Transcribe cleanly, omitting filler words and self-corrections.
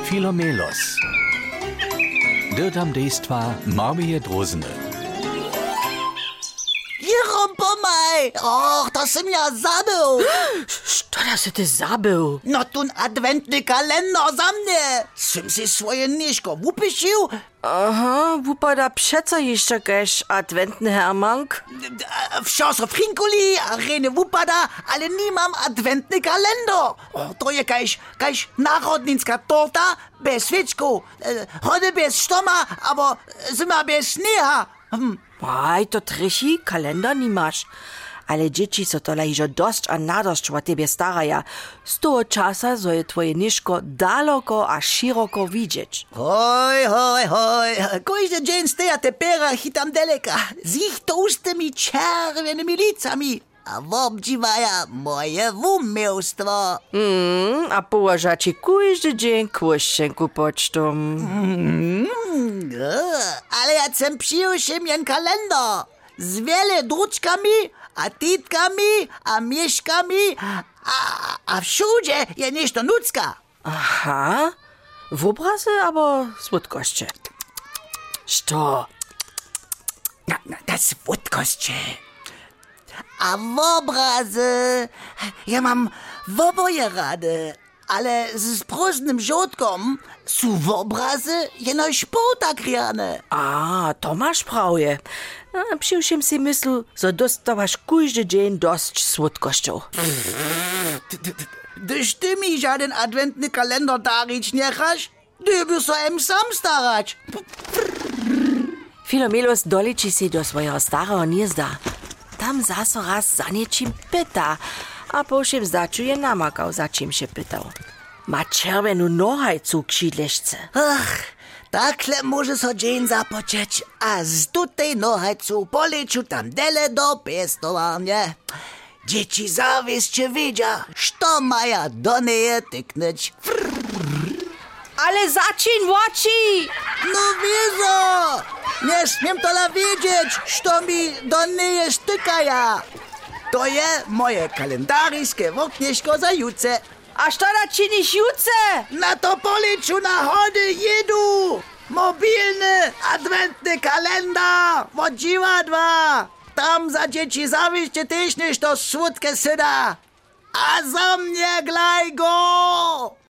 Filomelos. Dirtam dejstva Marmije Drozene. Jerom, pomaj! Och, to som ja zabył! Što da si ty zabył? No tun adventny kalender za mnie! Swym si swoje niżko upyšił? Aha, wupada přeco jeszcze kaž adventny hermank? Wsio so frinkuli, a rene upada, ale nie mam adventny kalender. O, to je kaž narodninska torta bez świeczku. Hode bez stoma, aber zima bez sneha. Aj, to trichi, kalender nimaš. Ale dzieci so tola ižo dosť a nadošť o tebe staraja. Z toho časa zo je tvoje nižko daleko a široko widzieć. Hoj, kojże dzień steja te pera hitam daleka. Z ich tłustymi czerwionymi licami. A obdziwaja moje wumiłstwo. A położa ci kujdy dzień kłóżcenku pocztą. Ale ja chcem przyjrzeć jen kalender. Z wiele druczkami, a titkami, a mieszkami, a wszędzie je nešto nucka. Aha, w obrazy albo słodkości? Što? Na słodkości. A w obrazy ja mam w oboje rady, ale z próżnym żołdkom są w obrazy jeno športakrjane. A, to masz prawie. Przyjrzym si myslu, że dostawasz kujdy dzień dość słodkością. Gdyż ty mi żaden adwentny kalender darić nie chasz, ty by so em sam starać. Filomelos doliči si do svojho starého gniezda. Tam zaso raz za niečím pyta, a po všem začuje namakał, za čím się pytał. Ma czerwenú nohajcu k šidlešce. Ach, takle może so dzień zapoczeć, a z tutej nohajcu poleciu tam dele do pestowania. Dzieci zawieszcze widzia, što maja do niej tyknąć. Ale začín oči! No wiezo! Nie śmiem tola wiedzieć, što mi do niej stykaja. To je moje kalendarijskie woknieszko za jutce. A što da činiš juce? Na to policzu na chody jedu! Mobilny adwentny kalendar od dziwadła! Tam za dzieci zawieźcie też nešto słodkie syda! A za mnie glaj go!